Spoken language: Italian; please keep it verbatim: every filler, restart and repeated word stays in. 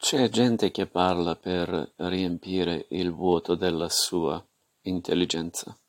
C'è gente che parla per riempire il vuoto della sua intelligenza.